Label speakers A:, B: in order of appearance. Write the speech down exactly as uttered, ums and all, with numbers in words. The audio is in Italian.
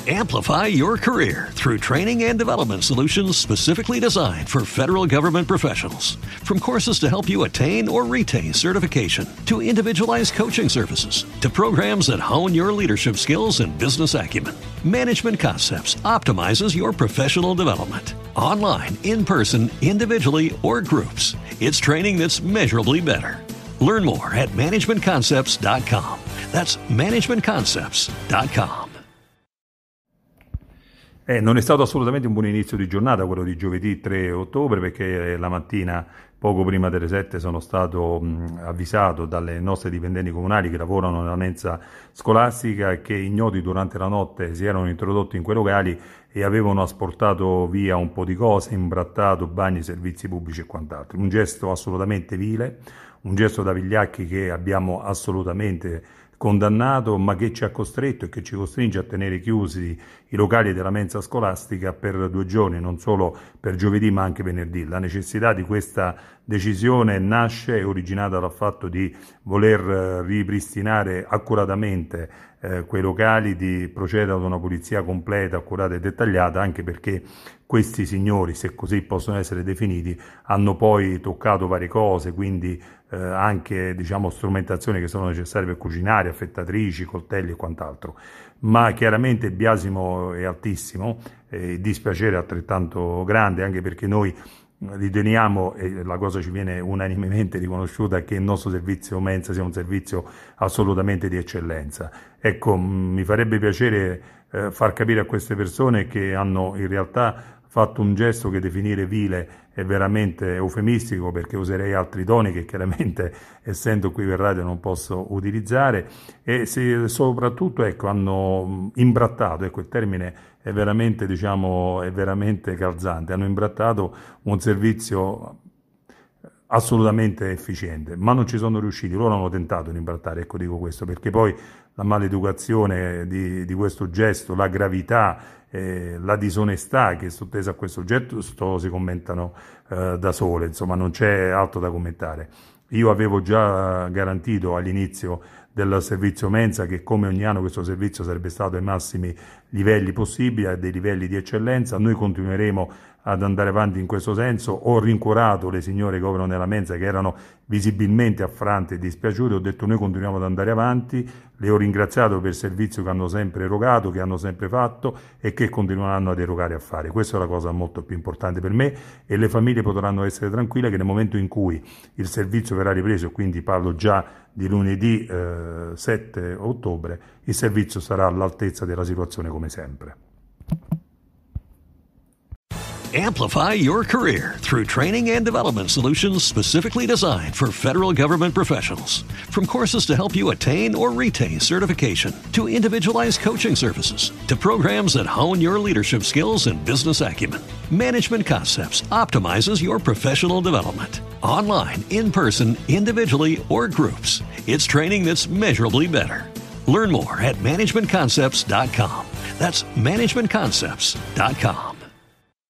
A: Amplify your career through training and development solutions specifically designed for federal government professionals. From courses to help you attain or retain certification, to individualized coaching services, to programs that hone your leadership skills and business acumen, Management Concepts optimizes your professional development. Online, in person, individually, or groups, it's training that's measurably better. Learn more at management concepts dot com. That's management concepts dot com.
B: Eh, non è stato assolutamente un buon inizio di giornata quello di giovedì tre ottobre, perché la mattina poco prima delle sette sono stato mh, avvisato dalle nostre dipendenti comunali che lavorano nella mensa scolastica che ignoti durante la notte si erano introdotti in quei locali e avevano asportato via un po' di cose, imbrattato bagni, servizi pubblici e quant'altro. Un gesto assolutamente vile, un gesto da vigliacchi che abbiamo assolutamente condannato, ma che ci ha costretto e che ci costringe a tenere chiusi i locali della mensa scolastica per due giorni, non solo per giovedì ma anche venerdì. La necessità di questa decisione nasce e originata dal fatto di voler ripristinare accuratamente eh, quei locali, di procedere ad una pulizia completa, accurata e dettagliata, anche perché questi signori, se così possono essere definiti, hanno poi toccato varie cose, quindi eh, anche diciamo strumentazioni che sono necessarie per cucinare, affettatrici, coltelli e quant'altro. Ma chiaramente il biasimo è altissimo, e il dispiacere è altrettanto grande, anche perché noi riteniamo, e la cosa ci viene unanimemente riconosciuta, che il nostro servizio mensa sia un servizio assolutamente di eccellenza. Ecco, mi farebbe piacere eh, far capire a queste persone che hanno in realtà fatto un gesto che definire vile è veramente eufemistico, perché userei altri toni che chiaramente, essendo qui per radio, non posso utilizzare, e se, soprattutto ecco, hanno imbrattato, ecco il termine è veramente, diciamo, è veramente calzante, hanno imbrattato un servizio assolutamente efficiente, ma non ci sono riusciti. Loro hanno tentato di imbrattare, ecco dico questo, perché poi la maleducazione di, di questo gesto, la gravità, eh, la disonestà che è sottesa a questo gesto si commentano eh, da sole, insomma non c'è altro da commentare. Io avevo già garantito all'inizio del servizio mensa che come ogni anno questo servizio sarebbe stato ai massimi livelli possibili, a dei livelli di eccellenza. Noi continueremo ad andare avanti in questo senso. Ho rincuorato le signore che operano nella mensa, che erano visibilmente affrante e dispiaciute, ho detto noi continuiamo ad andare avanti, le ho ringraziato per il servizio che hanno sempre erogato, che hanno sempre fatto e che continueranno ad erogare a fare. Questa è la cosa molto più importante per me, e le famiglie potranno essere tranquille che nel momento in cui il servizio verrà ripreso, quindi parlo già di lunedì eh, sette ottobre, il servizio sarà all'altezza della situazione come sempre.
A: Amplify your career through training and development solutions specifically designed for federal government professionals. From courses to help you attain or retain certification, to individualized coaching services, to programs that hone your leadership skills and business acumen, Management Concepts optimizes your professional development. Online, in person, individually, or groups, it's training that's measurably better. Learn more at management concepts dot com. That's management concepts dot com.